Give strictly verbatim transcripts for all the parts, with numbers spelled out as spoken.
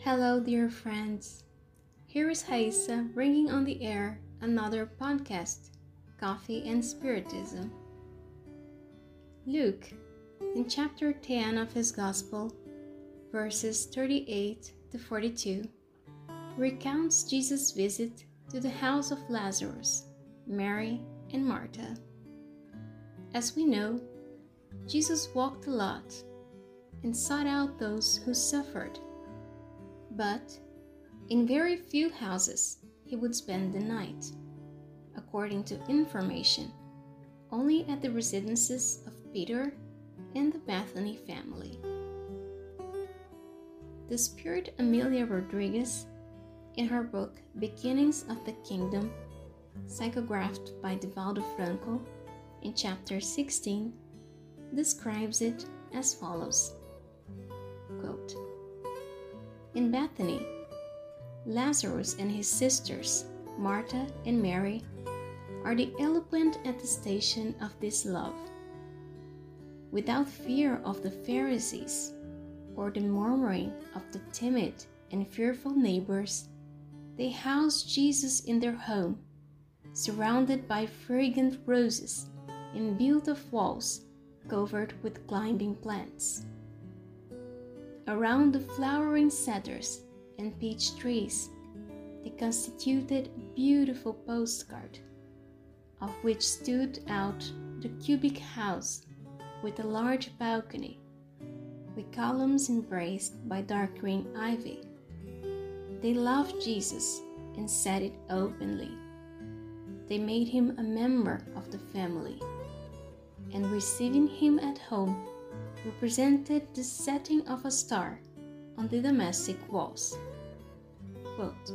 Hello, dear friends. Here is Haisa bringing on the air another podcast, Coffee and Spiritism. Luke, in chapter ten of his Gospel, verses thirty-eight to forty-two, recounts Jesus' visit to the house of Lazarus, Mary, and Martha. As we know, Jesus walked a lot and sought out those who suffered. But in very few houses he would spend the night, according to information, only at the residences of Peter and the Bethany family. The spirit Amelia Rodriguez, in her book Beginnings of the Kingdom, psychographed by Divaldo Franco, in chapter sixteen, describes it as follows, quote, "In Bethany, Lazarus and his sisters, Martha and Mary, are the eloquent attestation of this love. Without fear of the Pharisees or the murmuring of the timid and fearful neighbors, they housed Jesus in their home, surrounded by fragrant roses and built of walls covered with climbing plants. Around the flowering cedars and peach trees, they constituted a beautiful postcard, of which stood out the cubic house with a large balcony, with columns embraced by dark green ivy. They loved Jesus and said it openly. They made him a member of the family, and receiving him at home represented the setting of a star on the domestic walls." Quote,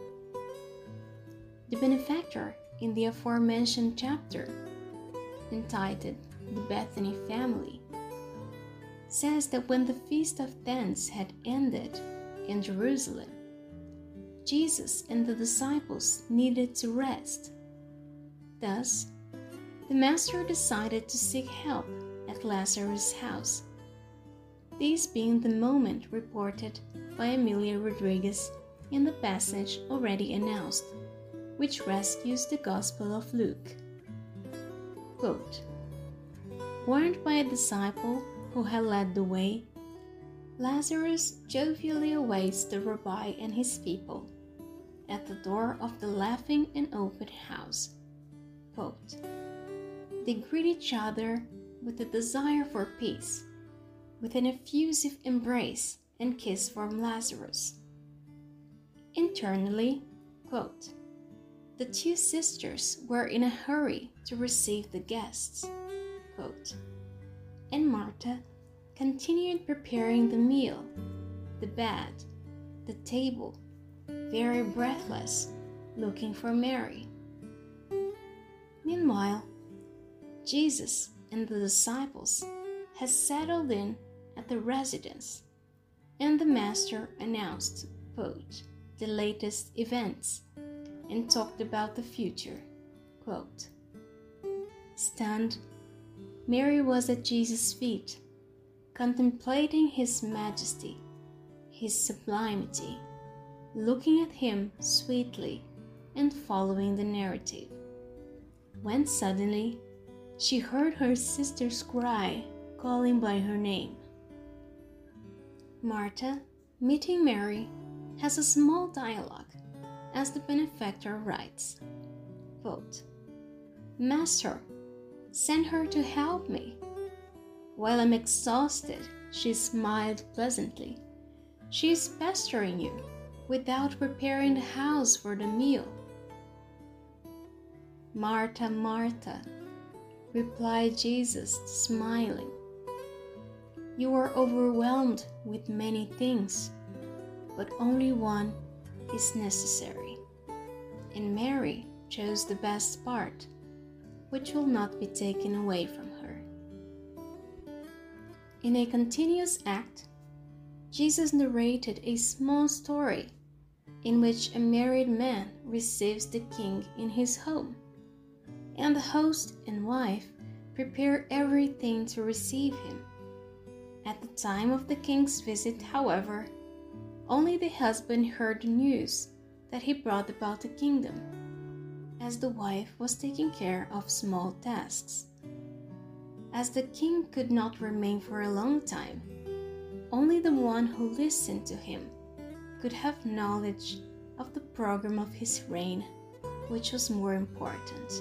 the benefactor in the aforementioned chapter, entitled The Bethany Family, says that when the Feast of Tents had ended in Jerusalem, Jesus and the disciples needed to rest. Thus, the Master decided to seek help at Lazarus' house, this being the moment reported by Amelia Rodriguez in the passage already announced, which rescues the Gospel of Luke. Quote, "Warned by a disciple who had led the way, Lazarus jovially awaits the rabbi and his people at the door of the laughing and open house." Quote, "They greet each other with a desire for peace, with an effusive embrace and kiss from Lazarus." Internally, quote, "The two sisters were in a hurry to receive the guests," quote, "and Martha continued preparing the meal, the bed, the table, very breathless, looking for Mary. Meanwhile, Jesus and the disciples had settled in at the residence, and the Master announced, quote, the latest events and talked about the future. Quote, "Stunned, Mary was at Jesus' feet, contemplating his majesty, his sublimity, looking at him sweetly and following the narrative, when suddenly she heard her sister's cry calling by her name. Martha, meeting Mary, has a small dialogue, as the benefactor writes, quote, 'Master, send her to help me.' While I'm exhausted, she smiled pleasantly. She is pestering you without preparing the house for the meal. 'Martha, Martha,' replied Jesus, smiling, 'you are overwhelmed with many things, but only one is necessary. And Mary chose the best part, which will not be taken away from her.'" In a continuous act, Jesus narrated a small story in which a married man receives the king in his home, and the host and wife prepare everything to receive him. At the time of the king's visit, however, only the husband heard the news that he brought about the kingdom, as the wife was taking care of small tasks. As the king could not remain for a long time, only the one who listened to him could have knowledge of the program of his reign, which was more important.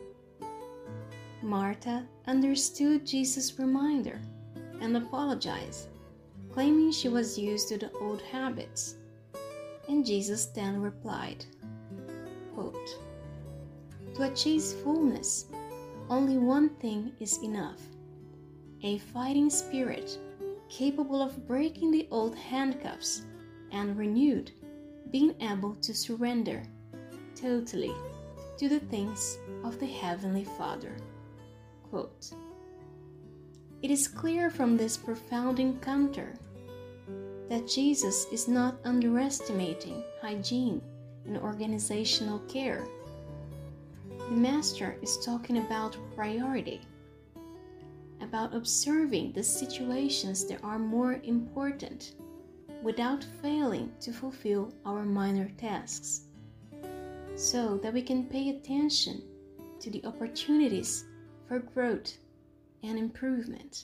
Martha understood Jesus' reminder and apologized, claiming she was used to the old habits. And Jesus then replied, quote, "To achieve fullness, only one thing is enough: a fighting spirit capable of breaking the old handcuffs and renewed, being able to surrender totally to the things of the Heavenly Father." Quote. It is clear from this profound encounter that Jesus is not underestimating hygiene and organizational care. The Master is talking about priority, about observing the situations that are more important without failing to fulfill our minor tasks, so that we can pay attention to the opportunities for growth and improvement.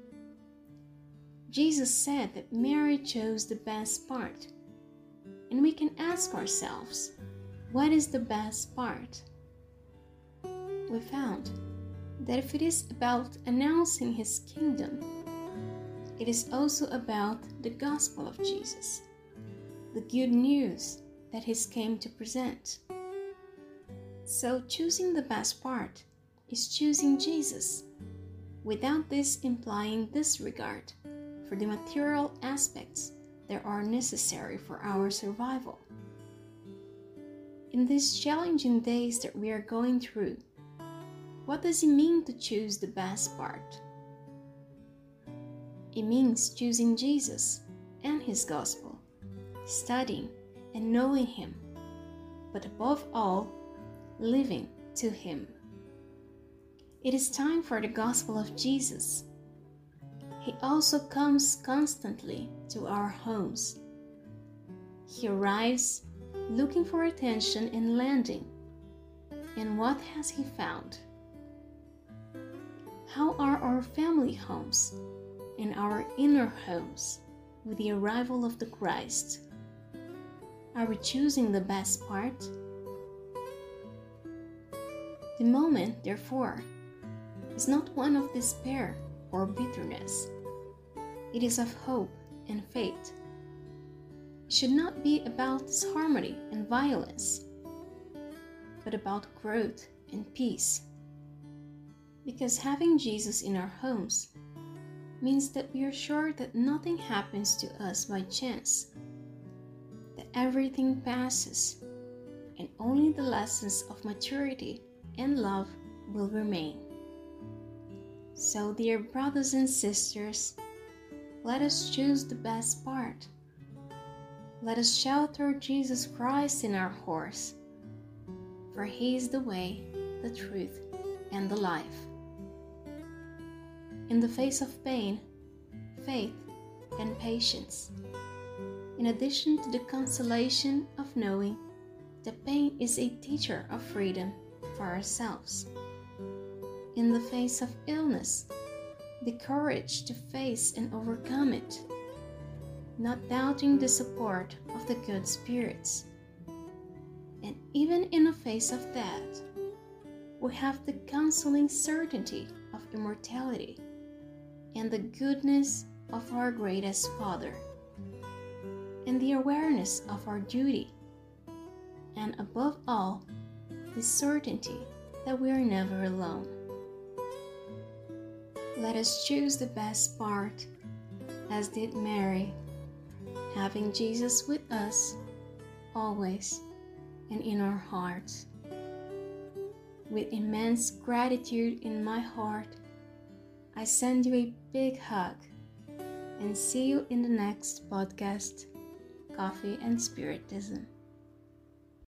Jesus said that Mary chose the best part, and we can ask ourselves, what is the best part? We found that if it is about announcing His kingdom, it is also about the gospel of Jesus, the good news that He came to present. So choosing the best part is choosing Jesus, without this implying disregard for the material aspects that are necessary for our survival. In these challenging days that we are going through, what does it mean to choose the best part? It means choosing Jesus and His gospel, studying and knowing Him, but above all, living to Him. It is time for the gospel of Jesus. He also comes constantly to our homes. He arrives looking for attention and landing. And what has He found? How are our family homes and our inner homes with the arrival of the Christ? Are we choosing the best part? The moment, therefore, is not one of despair or bitterness. It is of hope and faith. It should not be about disharmony and violence, but about growth and peace. Because having Jesus in our homes means that we are sure that nothing happens to us by chance, that everything passes, and only the lessons of maturity and love will remain. So, dear brothers and sisters, let us choose the best part. Let us shelter Jesus Christ in our horse, for He is the way, the truth, and the life. In the face of pain, faith, and patience, in addition to the consolation of knowing that pain is a teacher of freedom for ourselves. In the face of illness, the courage to face and overcome it, not doubting the support of the good spirits. And even in the face of death, we have the consoling certainty of immortality and the goodness of our greatest Father, and the awareness of our duty, and above all, the certainty that we are never alone. Let us choose the best part, as did Mary, having Jesus with us always and in our hearts. With immense gratitude in my heart, I send you a big hug and see you in the next podcast, Coffee and Spiritism.